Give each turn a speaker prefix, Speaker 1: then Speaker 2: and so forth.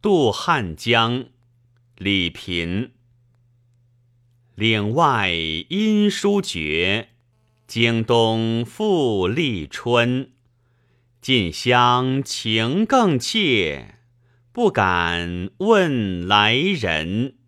Speaker 1: 渡汉江，李萍。岭外音书绝，京东复历春。近乡情更怯，不敢问来人。